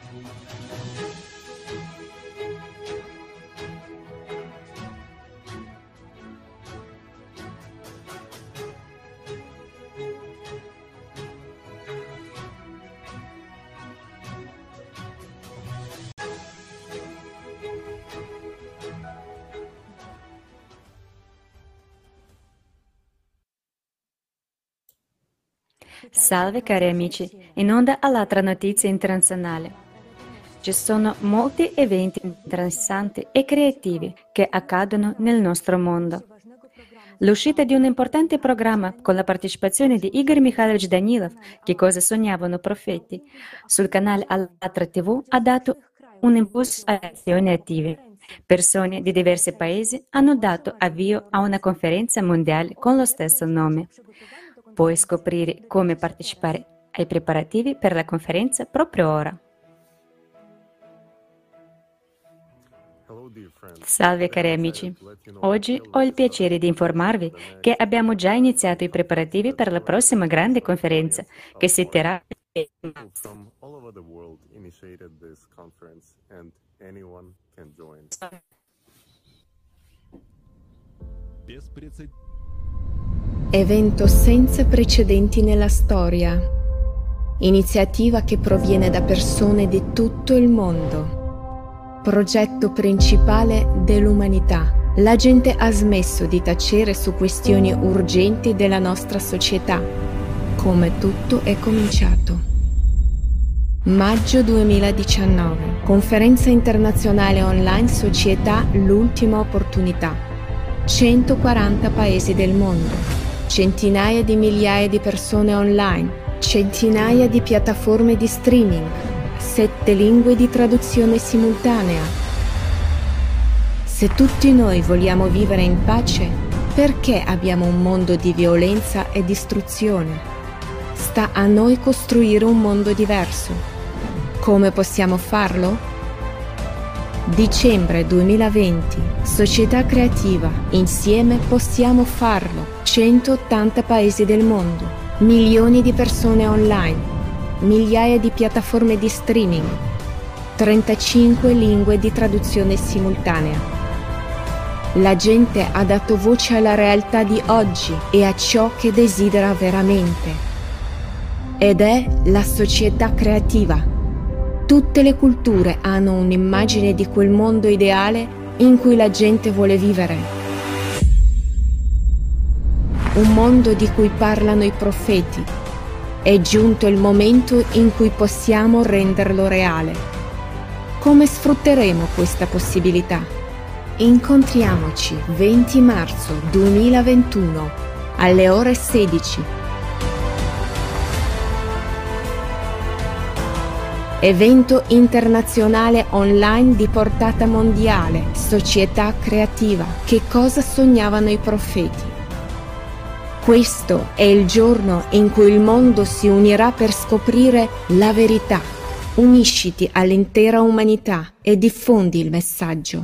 Salve cari amici, in onda all'altra notizia internazionale. Ci sono molti eventi interessanti e creativi che accadono nel nostro mondo. L'uscita di un importante programma con la partecipazione di Igor Mikhailovich Danilov, Che cosa sognavano i profeti, sul canale Allatra TV ha dato un impulso alle azioni attive. Persone di diversi paesi hanno dato avvio a una conferenza mondiale con lo stesso nome. Puoi scoprire come partecipare ai preparativi per la conferenza proprio ora. Salve cari amici, oggi ho il piacere di informarvi che abbiamo già iniziato i preparativi per la prossima grande conferenza che si terrà Evento senza precedenti nella storia. Iniziativa che proviene da persone di tutto il mondo. Progetto principale dell'umanità. La gente ha smesso di tacere su questioni urgenti della nostra società. Come tutto è cominciato. Maggio 2019. Conferenza internazionale online Società L'ultima opportunità. 140 paesi del mondo. Centinaia di migliaia di persone online. Centinaia di piattaforme di streaming. 7 lingue di traduzione simultanea. Se tutti noi vogliamo vivere in pace, perché abbiamo un mondo di violenza e distruzione? Sta a noi costruire un mondo diverso. Come possiamo farlo? Dicembre 2020, Società Creativa. Insieme possiamo farlo. 180 paesi del mondo. Milioni di persone online. Migliaia di piattaforme di streaming, 35 lingue di traduzione simultanea. La gente ha dato voce alla realtà di oggi e a ciò che desidera veramente. Ed è la società creativa. Tutte le culture hanno un'immagine di quel mondo ideale in cui la gente vuole vivere. Un mondo di cui parlano i profeti. È giunto il momento in cui possiamo renderlo reale. Come sfrutteremo questa possibilità? Incontriamoci 20 marzo 2021 alle ore 16. Evento internazionale online di portata mondiale, Società Creativa. Che cosa sognavano i profeti? Questo è il giorno in cui il mondo si unirà per scoprire la verità. Unisciti all'intera umanità e diffondi il messaggio.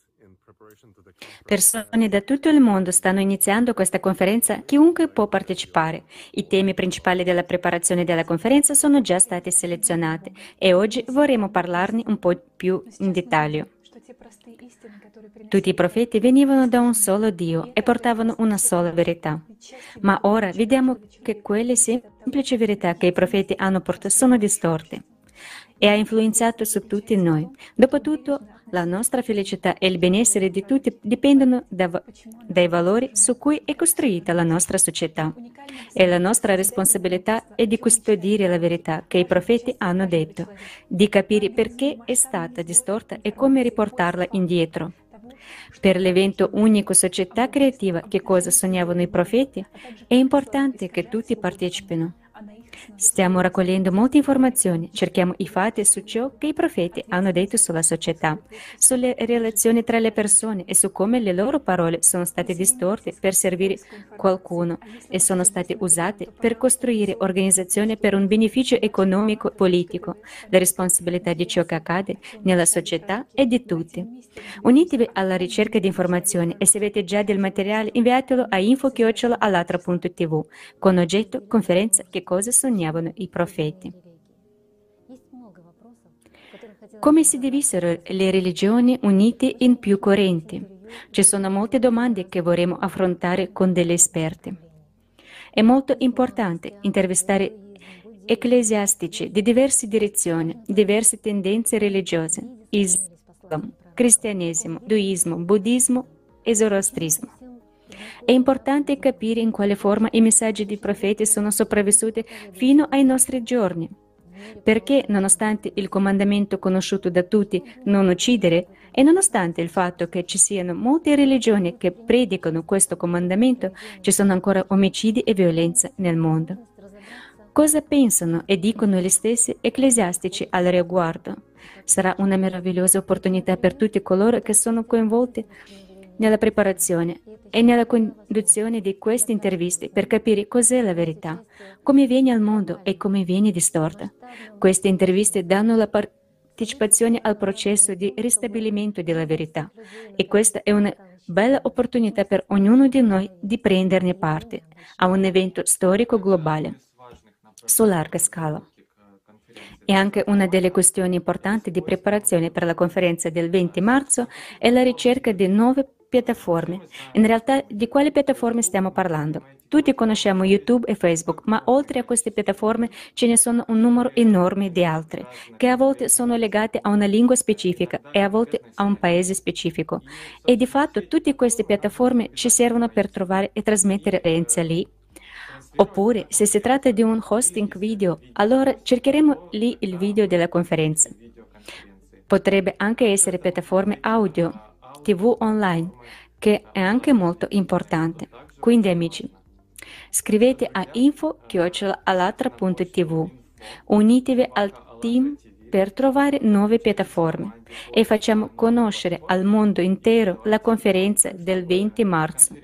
Persone da tutto il mondo stanno iniziando questa conferenza, chiunque può partecipare. I temi principali della preparazione della conferenza sono già stati selezionati e oggi vorremmo parlarne un po' più in dettaglio. Tutti i profeti venivano da un solo Dio e portavano una sola verità. Ma ora vediamo che quelle semplici verità che i profeti hanno portato sono distorte e ha influenzato su tutti noi. Dopotutto, la nostra felicità e il benessere di tutti dipendono dai valori su cui è costruita la nostra società. E la nostra responsabilità è di custodire la verità che i profeti hanno detto, di capire perché è stata distorta e come riportarla indietro. Per l'evento unico Società Creativa Che cosa sognavano i profeti, è importante che tutti partecipino. Stiamo raccogliendo molte informazioni, cerchiamo i fatti su ciò che i profeti hanno detto sulla società, sulle relazioni tra le persone e su come le loro parole sono state distorte per servire qualcuno e sono state usate per costruire organizzazioni per un beneficio economico e politico. La responsabilità di ciò che accade nella società è di tutti. Unitevi alla ricerca di informazioni e se avete già del materiale inviatelo a info@allatra.tv con oggetto conferenza Che cosa sognavano i profeti. Come si divisero le religioni unite in più correnti? Ci sono molte domande che vorremmo affrontare con degli esperti. È molto importante intervistare ecclesiastici di diverse direzioni, diverse tendenze religiose, Islam, cristianesimo, induismo, buddismo e zoroastrismo. È importante capire in quale forma i messaggi dei profeti sono sopravvissuti fino ai nostri giorni. Perché, nonostante il comandamento conosciuto da tutti, non uccidere, e nonostante il fatto che ci siano molte religioni che predicano questo comandamento, ci sono ancora omicidi e violenza nel mondo. Cosa pensano e dicono gli stessi ecclesiastici al riguardo? Sarà una meravigliosa opportunità per tutti coloro che sono coinvolti nella preparazione e nella conduzione di queste interviste per capire cos'è la verità, come viene al mondo e come viene distorta. Queste interviste danno la partecipazione al processo di ristabilimento della verità e questa è una bella opportunità per ognuno di noi di prenderne parte a un evento storico globale su larga scala. E anche una delle questioni importanti di preparazione per la conferenza del 20 marzo è la ricerca di nuove piattaforme. In realtà, di quali piattaforme stiamo parlando? Tutti conosciamo YouTube e Facebook, ma oltre a queste piattaforme ce ne sono un numero enorme di altre, che a volte sono legate a una lingua specifica e a volte a un paese specifico. E di fatto tutte queste piattaforme ci servono per trovare e trasmettere conferenze lì. Oppure, se si tratta di un hosting video, allora cercheremo lì il video della conferenza. Potrebbe anche essere piattaforme audio, TV online, che è anche molto importante. Quindi, amici, scrivete a info@alatra.tv. Unitevi al team per trovare nuove piattaforme e facciamo conoscere al mondo intero la conferenza del 20 marzo.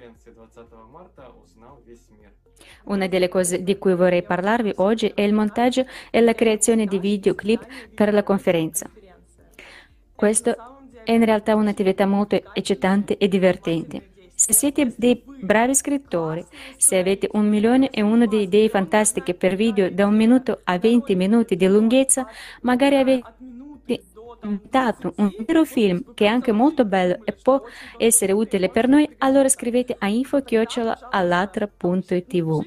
Una delle cose di cui vorrei parlarvi oggi è il montaggio e la creazione di videoclip per la conferenza. Questo è in realtà un'attività molto eccitante e divertente. Se siete dei bravi scrittori, se avete 1.001 di idee fantastiche per video da 1 minuto a 20 minuti di lunghezza, magari avete inventato un intero film che è anche molto bello e può essere utile per noi, allora scrivete a info@alatra.tv.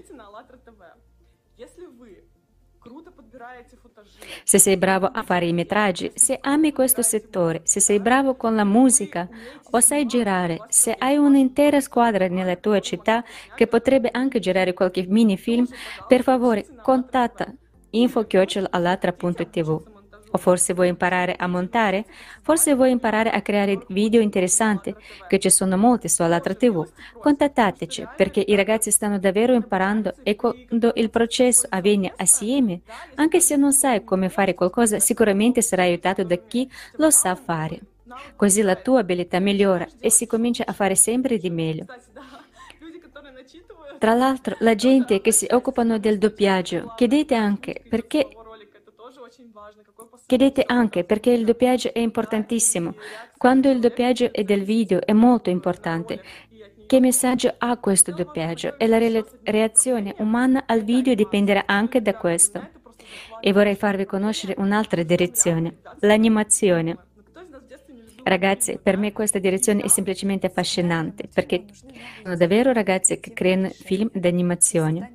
Se sei bravo a fare i metraggi, se ami questo settore, se sei bravo con la musica o sai girare, se hai un'intera squadra nella tua città che potrebbe anche girare qualche mini film, per favore contatta info@alatra.tv. O forse vuoi imparare a montare? Forse vuoi imparare a creare video interessanti, che ci sono molti su Alatra TV. Contattateci, perché i ragazzi stanno davvero imparando e quando il processo avviene assieme, anche se non sai come fare qualcosa, sicuramente sarai aiutato da chi lo sa fare. Così la tua abilità migliora e si comincia a fare sempre di meglio. Tra l'altro, la gente che si occupano del doppiaggio, chiedete anche perché il doppiaggio è importantissimo. Quando il doppiaggio è del video è molto importante. Che messaggio ha questo doppiaggio? E la reazione umana al video dipenderà anche da questo. E vorrei farvi conoscere un'altra direzione, l'animazione. Ragazzi, per me questa direzione è semplicemente affascinante, perché sono davvero ragazzi che creano film d'animazione.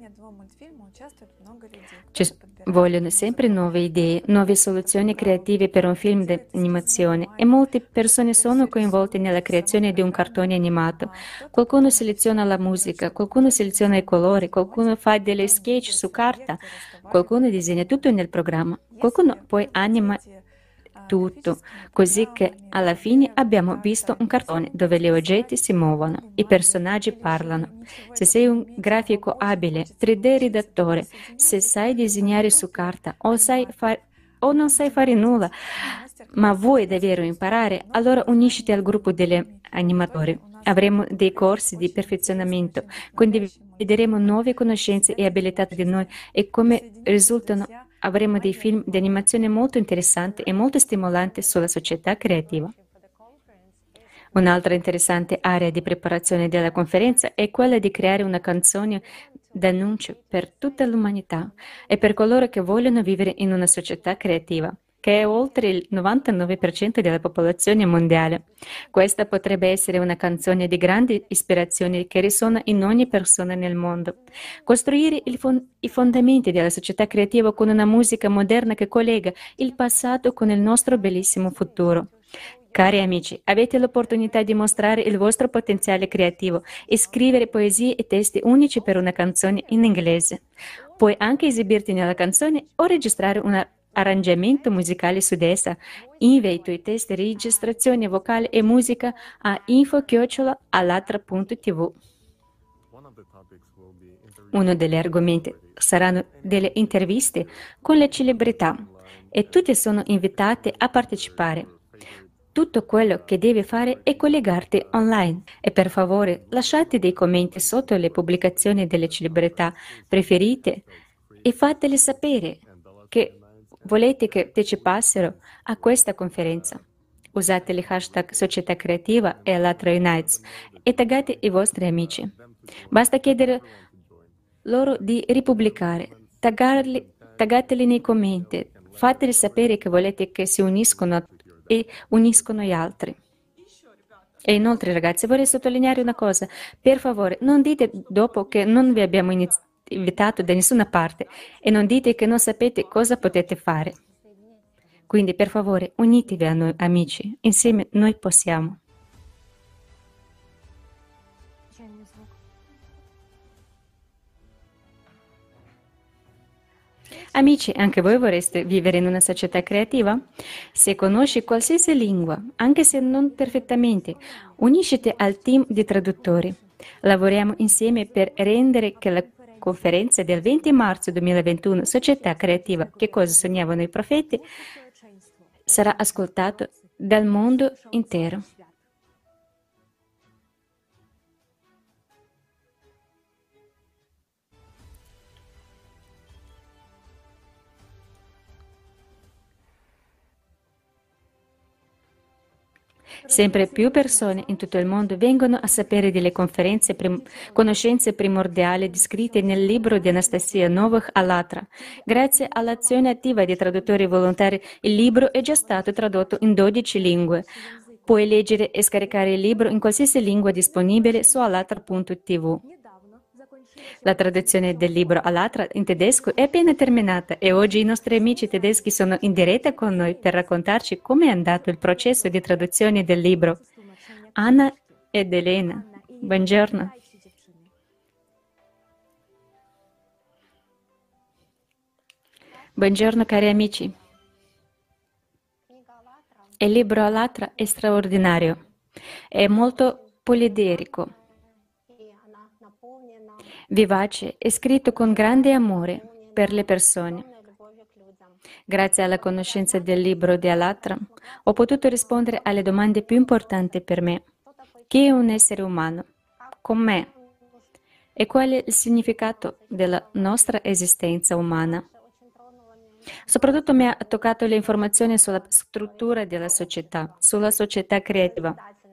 Ci vogliono sempre nuove idee, nuove soluzioni creative per un film d'animazione e molte persone sono coinvolte nella creazione di un cartone animato. Qualcuno seleziona la musica, qualcuno seleziona i colori, qualcuno fa delle sketch su carta, qualcuno disegna tutto nel programma, qualcuno poi anima tutto, così che alla fine abbiamo visto un cartone dove gli oggetti si muovono, i personaggi parlano. Se sei un grafico abile, 3D redattore, se sai disegnare su carta o non sai fare nulla, ma vuoi davvero imparare, allora unisciti al gruppo degli animatori. Avremo dei corsi di perfezionamento, condivideremo nuove conoscenze e abilità di noi e come risultano avremo dei film di animazione molto interessanti e molto stimolanti sulla società creativa. Un'altra interessante area di preparazione della conferenza è quella di creare una canzone d'annuncio per tutta l'umanità e per coloro che vogliono vivere in una società creativa, che è oltre il 99% della popolazione mondiale. Questa potrebbe essere una canzone di grande ispirazione che risuona in ogni persona nel mondo. Costruire i fondamenti della società creativa con una musica moderna che collega il passato con il nostro bellissimo futuro. Cari amici, avete l'opportunità di mostrare il vostro potenziale creativo e scrivere poesie e testi unici per una canzone in inglese. Puoi anche esibirti nella canzone o registrare un arrangiamento musicale su di essa. Invia i tuoi testi, registrazione vocale e musica a info@alatra.tv. Uno degli argomenti saranno delle interviste con le celebrità e tutte sono invitate a partecipare. Tutto quello che devi fare è collegarti online e per favore lasciate dei commenti sotto le pubblicazioni delle celebrità preferite e fatele sapere che volete che partecipassero a questa conferenza. Usate il hashtag Società Creativa e Alatra Unites e taggate i vostri amici. Basta chiedere loro di ripubblicare, taggateli nei commenti, fateli sapere che volete che si uniscono e uniscono gli altri. E inoltre, ragazzi, vorrei sottolineare una cosa. Per favore, non dite dopo che non vi abbiamo invitato da nessuna parte e non dite che non sapete cosa potete fare. Quindi, per favore, unitevi a noi, amici. Insieme noi possiamo. Amici, anche voi vorreste vivere in una società creativa? Se conosci qualsiasi lingua, anche se non perfettamente, unisciti al team di traduttori. Lavoriamo insieme per rendere che la conferenza del 20 marzo 2021, Società Creativa, che cosa sognavano i profeti, sarà ascoltata dal mondo intero. Sempre più persone in tutto il mondo vengono a sapere delle conoscenze primordiali descritte nel libro di Anastasia Novak Allatra. Grazie all'azione attiva di traduttori volontari, il libro è già stato tradotto in 12 lingue. Puoi leggere e scaricare il libro in qualsiasi lingua disponibile su alatra.tv. La traduzione del libro Allatra in tedesco è appena terminata e oggi i nostri amici tedeschi sono in diretta con noi per raccontarci come è andato il processo di traduzione del libro. Anna ed Elena, buongiorno. Buongiorno cari amici. Il libro Allatra è straordinario, è molto poliderico, vivace e scritto con grande amore per le persone. Grazie alla conoscenza del libro di Allatra, ho potuto rispondere alle domande più importanti per me. Chi è un essere umano? Com'è? E qual è il significato della nostra esistenza umana? Soprattutto mi ha toccato le informazioni sulla struttura della società, sulla società creativa.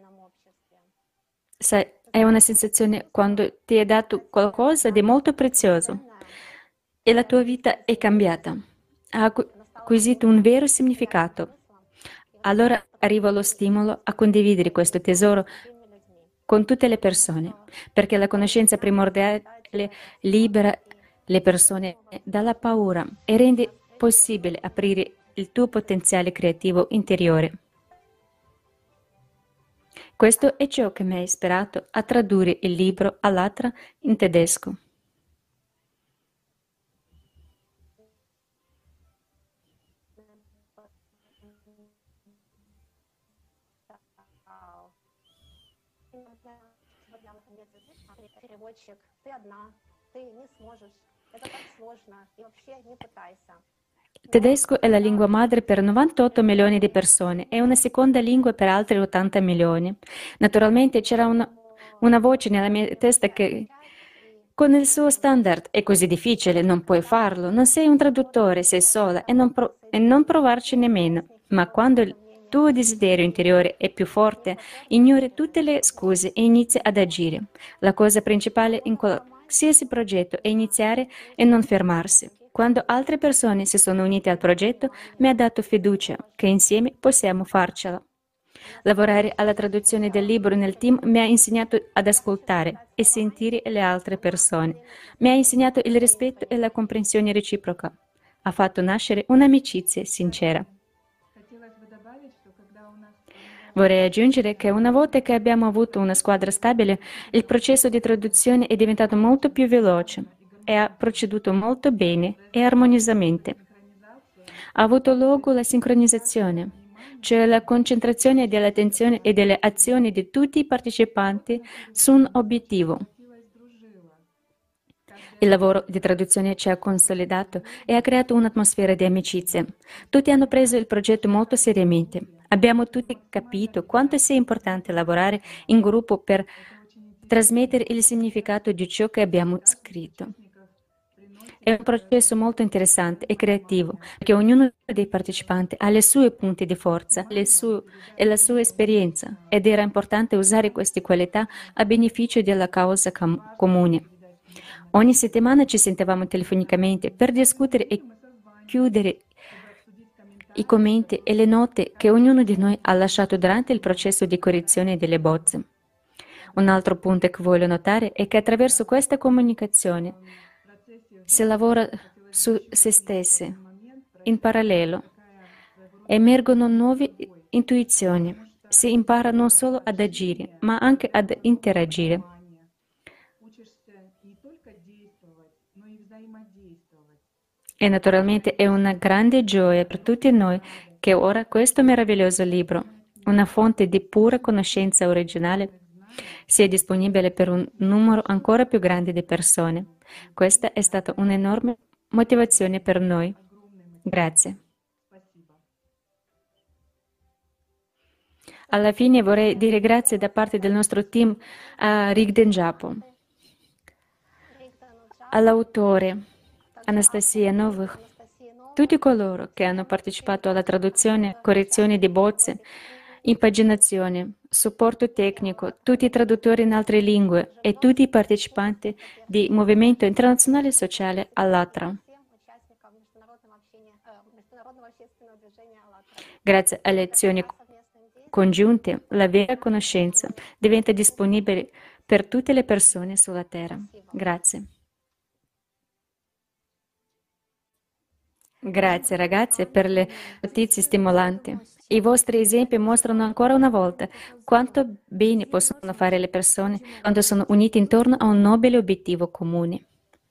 Sai, è una sensazione quando ti è dato qualcosa di molto prezioso e la tua vita è cambiata, ha acquisito un vero significato. Allora arriva lo stimolo a condividere questo tesoro con tutte le persone, perché la conoscenza primordiale libera le persone dalla paura e rende possibile aprire il tuo potenziale creativo interiore. Questo è ciò che mi ha ispirato a tradurre il libro Allatra in tedesco. Il tedesco è la lingua madre per 98 milioni di persone e una seconda lingua per altri 80 milioni. Naturalmente c'era una voce nella mia testa che con il suo standard è così difficile, non puoi farlo, non sei un traduttore, sei sola e non provarci nemmeno. Ma quando il tuo desiderio interiore è più forte, ignori tutte le scuse e inizi ad agire. La cosa principale in qualsiasi progetto è iniziare e non fermarsi. Quando altre persone si sono unite al progetto, mi ha dato fiducia che insieme possiamo farcela. Lavorare alla traduzione del libro nel team mi ha insegnato ad ascoltare e sentire le altre persone. Mi ha insegnato il rispetto e la comprensione reciproca. Ha fatto nascere un'amicizia sincera. Vorrei aggiungere che una volta che abbiamo avuto una squadra stabile, il processo di traduzione è diventato molto più veloce e ha proceduto molto bene e armoniosamente. Ha avuto luogo la sincronizzazione, cioè la concentrazione dell'attenzione e delle azioni di tutti i partecipanti su un obiettivo. Il lavoro di traduzione ci ha consolidato e ha creato un'atmosfera di amicizia. Tutti hanno preso il progetto molto seriamente. Abbiamo tutti capito quanto sia importante lavorare in gruppo per trasmettere il significato di ciò che abbiamo scritto. È un processo molto interessante e creativo, perché ognuno dei partecipanti ha le sue punti di forza e la sua esperienza, ed era importante usare queste qualità a beneficio della causa comune. Ogni settimana ci sentivamo telefonicamente per discutere e chiudere i commenti e le note che ognuno di noi ha lasciato durante il processo di correzione delle bozze. Un altro punto che voglio notare è che attraverso questa comunicazione si lavora su se stessi in parallelo, emergono nuove intuizioni, si impara non solo ad agire, ma anche ad interagire. E naturalmente è una grande gioia per tutti noi che ora questo meraviglioso libro, una fonte di pura conoscenza originale, sia disponibile per un numero ancora più grande di persone. Questa è stata un'enorme motivazione per noi. Grazie. Alla fine vorrei dire grazie da parte del nostro team a Rigden Japo, all'autore Anastasia Novых, tutti coloro che hanno partecipato alla traduzione, correzione di bozze, impaginazione, supporto tecnico, tutti i traduttori in altre lingue e tutti i partecipanti del Movimento Internazionale Sociale Allatra. Grazie alle azioni congiunte, la vera conoscenza diventa disponibile per tutte le persone sulla Terra. Grazie. Grazie ragazze per le notizie stimolanti. I vostri esempi mostrano ancora una volta quanto bene possono fare le persone quando sono unite intorno a un nobile obiettivo comune.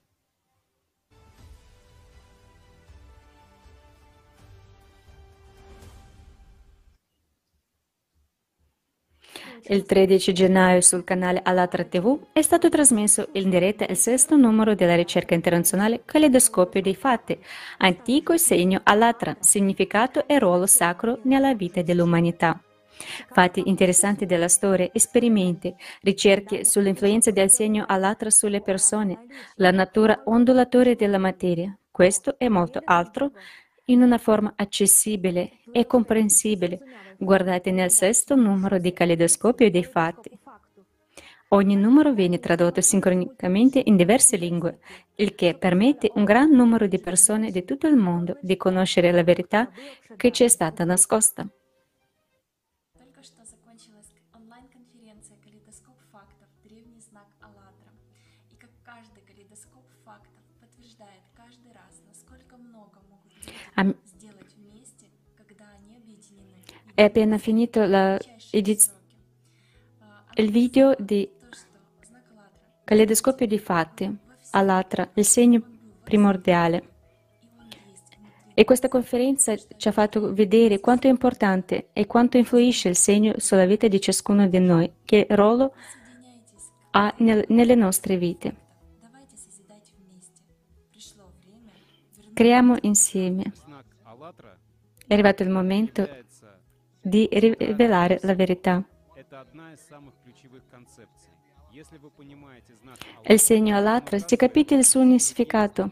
Il 13 gennaio sul canale Allatra TV è stato trasmesso in diretta il sesto numero della ricerca internazionale Caleidoscopio dei fatti, antico segno Allatra, significato e ruolo sacro nella vita dell'umanità. Fatti interessanti della storia, esperimenti, ricerche sull'influenza del segno Allatra sulle persone, la natura ondulatoria della materia. Questo e molto altro in una forma accessibile e comprensibile. Guardate nel sesto numero di Caleidoscopio dei fatti. Ogni numero viene tradotto sincronicamente in diverse lingue, il che permette un gran numero di persone di tutto il mondo di conoscere la verità che ci è stata nascosta. Только что закончилась онлайн-конференция «Калейдоскоп фактов. Древний знак АЛЛАТРА». И как каждый калейдоскоп фактов подтверждает каждый раз, насколько много могут люди сделать вместе, когда они объединены. È appena finito il video di Caleidoscopio di fatti, Allatra, il segno primordiale. E questa conferenza ci ha fatto vedere quanto è importante e quanto influisce il segno sulla vita di ciascuno di noi, che ruolo ha nelle nostre vite. Creiamo insieme. È arrivato il momento di rivelare la verità. Il segno Allatra, se capite il suo significato,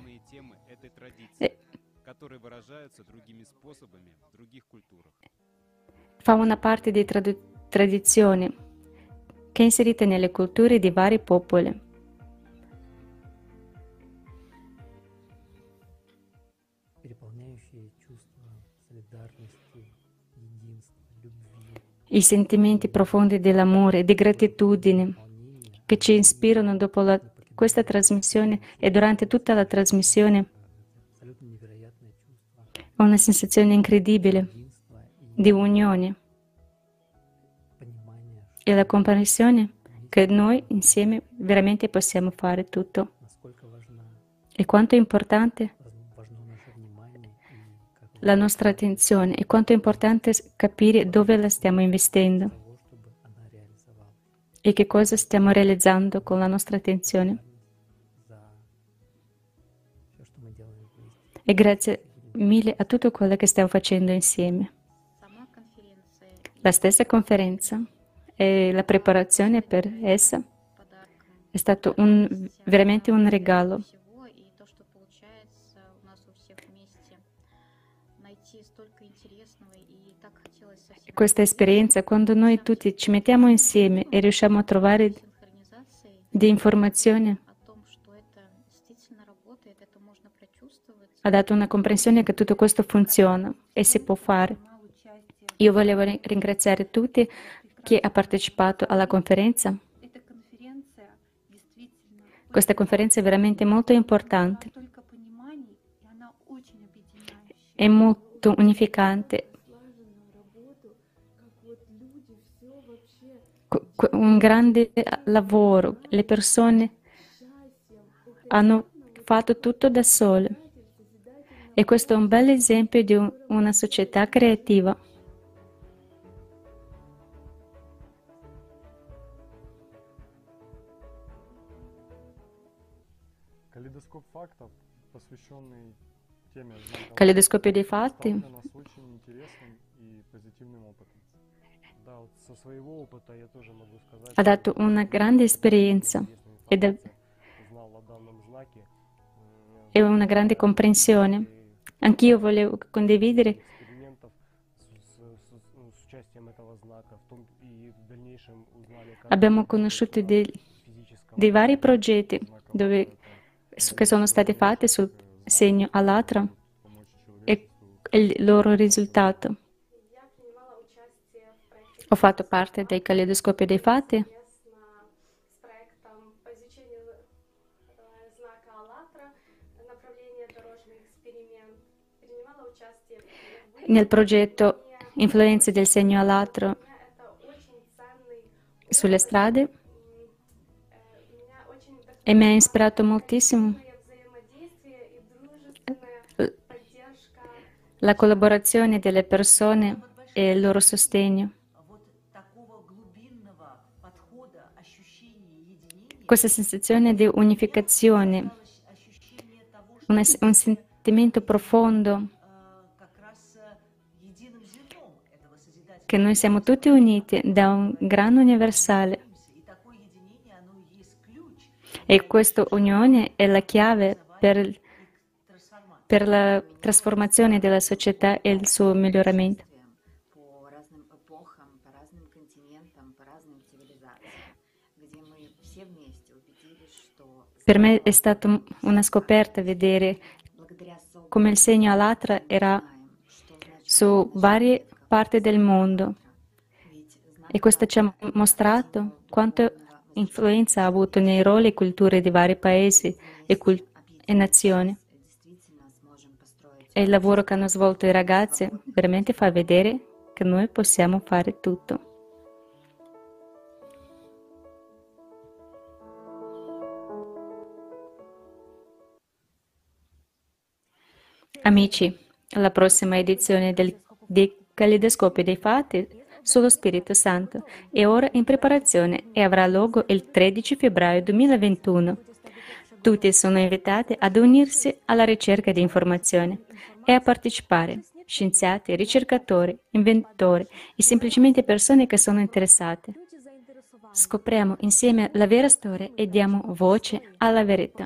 fa una parte di tradizione che è inserita nelle culture di vari popoli. i sentimenti profondi dell'amore, di gratitudine che ci ispirano dopo questa trasmissione e durante tutta la trasmissione. Ho una sensazione incredibile di unione e la comprensione che noi insieme veramente possiamo fare tutto. E quanto è importante la nostra attenzione e quanto è importante capire dove la stiamo investendo e che cosa stiamo realizzando con la nostra attenzione. E grazie mille a tutto quello che stiamo facendo insieme. La stessa conferenza e la preparazione per essa è stato veramente un regalo. Questa esperienza, quando noi tutti ci mettiamo insieme e riusciamo a trovare di informazioni, ha dato una comprensione che tutto questo funziona e si può fare. Io volevo ringraziare tutti chi ha partecipato alla conferenza. Questa conferenza è veramente molto importante, è molto unificante. Un grande lavoro, le persone hanno fatto tutto da sole e questo è un bel esempio di una società creativa. Калейдоскопio dei fatti ha dato una grande esperienza e una grande comprensione. Anch'io volevo condividere abbiamo conosciuto dei vari progetti che sono stati fatti sul segno Alatra e il loro risultato. Ho fatto parte del Калейдоскопio dei fatti nel progetto Influenze del segno Alatra sulle strade e mi ha ispirato moltissimo la collaborazione delle persone e il loro sostegno. Questa sensazione di unificazione, un sentimento profondo che noi siamo tutti uniti da un grano universale e questa unione è la chiave per la trasformazione della società e il suo miglioramento. Per me è stata una scoperta vedere come il segno Alatra era su varie parti del mondo e questo ci ha mostrato quanta influenza ha avuto nei ruoli e culture di vari paesi e nazioni. E il lavoro che hanno svolto i ragazzi veramente fa vedere che noi possiamo fare tutto. Amici, la prossima edizione di Caleidoscopio dei Fatti sullo Spirito Santo è ora in preparazione e avrà luogo il 13 febbraio 2021. Tutti sono invitati ad unirsi alla ricerca di informazioni e a partecipare, scienziati, ricercatori, inventori e semplicemente persone che sono interessate. Scopriamo insieme la vera storia e diamo voce alla verità.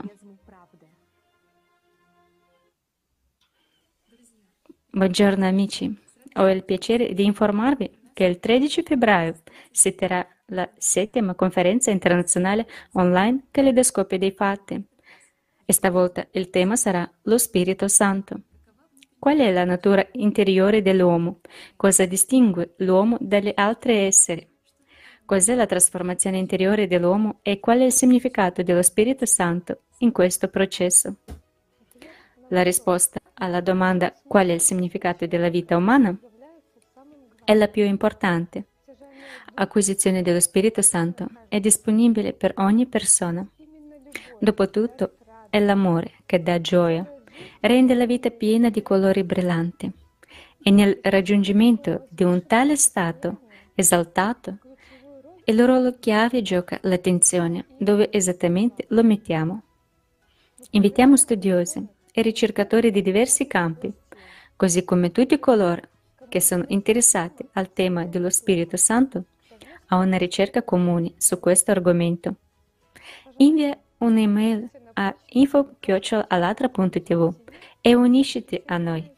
Buongiorno amici, ho il piacere di informarvi che il 13 febbraio si terrà la 7ª conferenza internazionale online Caleidoscopio dei Fatti e stavolta il tema sarà lo Spirito Santo. Qual è la natura interiore dell'uomo? Cosa distingue l'uomo dagli altri esseri? Cos'è la trasformazione interiore dell'uomo e qual è il significato dello Spirito Santo in questo processo? La risposta alla domanda qual è il significato della vita umana è la più importante. Acquisizione dello Spirito Santo è disponibile per ogni persona. Dopotutto, è l'amore che dà gioia, rende la vita piena di colori brillanti. E nel raggiungimento di un tale stato esaltato, il ruolo chiave gioca l'attenzione, dove esattamente lo mettiamo. Invitiamo studiosi e ricercatori di diversi campi, così come tutti coloro che sono interessati al tema dello Spirito Santo, a una ricerca comune su questo argomento. Invia un'email a info@alatra.tv e unisciti a noi.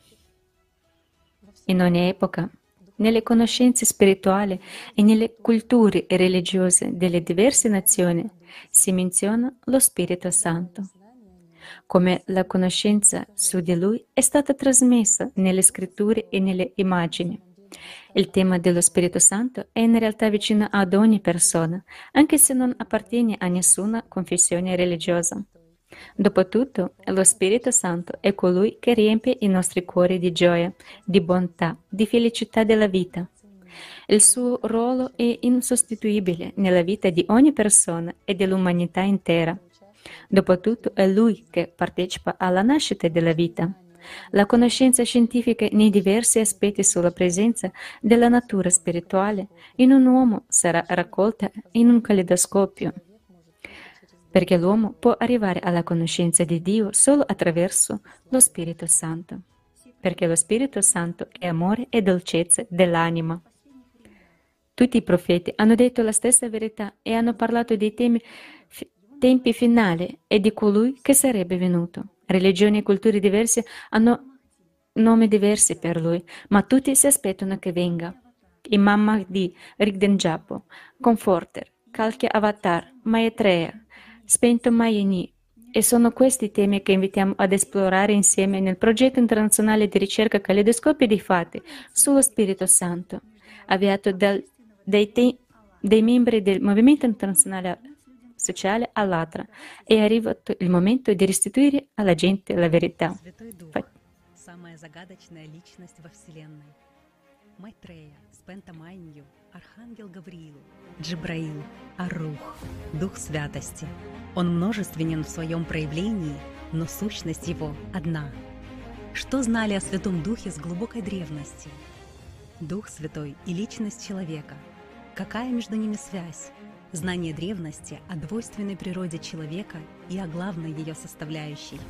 In ogni epoca, nelle conoscenze spirituali e nelle culture religiose delle diverse nazioni, si menziona lo Spirito Santo. Come la conoscenza su di lui è stata trasmessa nelle scritture e nelle immagini. Il tema dello Spirito Santo è in realtà vicino ad ogni persona, anche se non appartiene a nessuna confessione religiosa. Dopotutto, lo Spirito Santo è colui che riempie i nostri cuori di gioia, di bontà, di felicità della vita. Il suo ruolo è insostituibile nella vita di ogni persona e dell'umanità intera. Dopotutto è Lui che partecipa alla nascita della vita. La conoscenza scientifica nei diversi aspetti sulla presenza della natura spirituale in un uomo sarà raccolta in un caleidoscopio, perché l'uomo può arrivare alla conoscenza di Dio solo attraverso lo Spirito Santo, perché lo Spirito Santo è amore e dolcezza dell'anima. Tutti i profeti hanno detto la stessa verità e hanno parlato dei tempi finali e di colui che sarebbe venuto. Religioni e culture diverse hanno nomi diversi per lui, ma tutti si aspettano che venga. Imam Mahdi, Rigdenjapo, Comforter, Kalki Avatar, Maitreya, Spento Mayeni. E sono questi temi che invitiamo ad esplorare insieme nel progetto internazionale di ricerca Caleidoscopio dei Fatti sullo Spirito Santo, avviato dai membri del Movimento Internazionale Sociale Allatra. È arrivato il momento di restituire alla gente la verità. Святой Дух, самая загадочная личность во Вселенной. Майтрея, Спентамайнью, Архангел Гавриил, Джибраил, Ар-Рух, Дух Святости. Он множественен в своем проявлении, но сущность его одна. Что знали о Святом Духе с глубокой древности? Дух Святой и личность человека. Какая между ними связь? Знание древности о двойственной природе человека и о главной ее составляющей.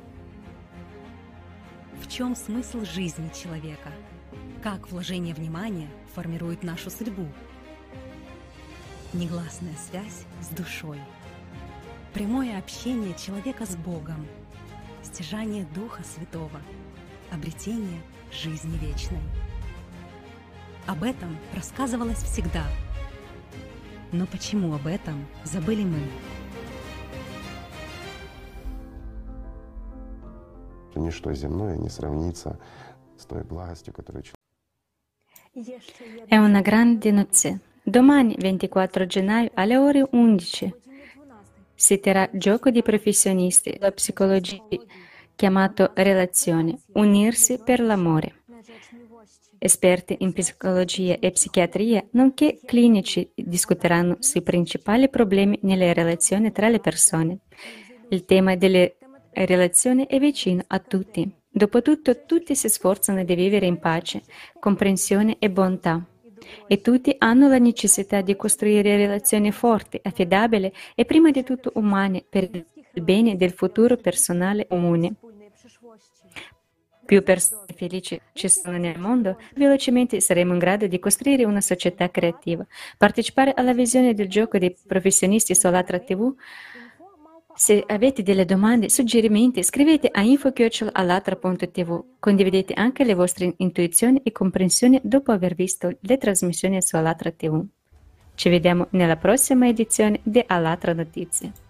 В чем смысл жизни человека? Как вложение внимания формирует нашу судьбу? Негласная связь с душой. Прямое общение человека с Богом. Стяжание Духа Святого. Обретение жизни вечной. Об этом рассказывалось всегда. Но почему об этом забыли мы? Ничто земное не сравнится с той благостью, которую È una grande notizia. Domani, 24 gennaio, alle ore 11, si terrà gioco di professionisti della psicologia chiamato Relazione, unirsi per l'amore. Esperti in psicologia e psichiatria, nonché clinici, discuteranno sui principali problemi nelle relazioni tra le persone. Il tema delle relazioni è vicino a tutti. Dopotutto, tutti si sforzano di vivere in pace, comprensione e bontà. E tutti hanno la necessità di costruire relazioni forti, affidabili e prima di tutto umane per il bene del futuro personale comune. Più persone felici ci sono nel mondo, velocemente saremo in grado di costruire una società creativa. Partecipare alla visione del gioco dei professionisti su Allatra TV. Se avete delle domande, suggerimenti, scrivete a info@allatra.tv. Condividete anche le vostre intuizioni e comprensioni dopo aver visto le trasmissioni su Allatra TV. Ci vediamo nella prossima edizione di Allatra Notizie.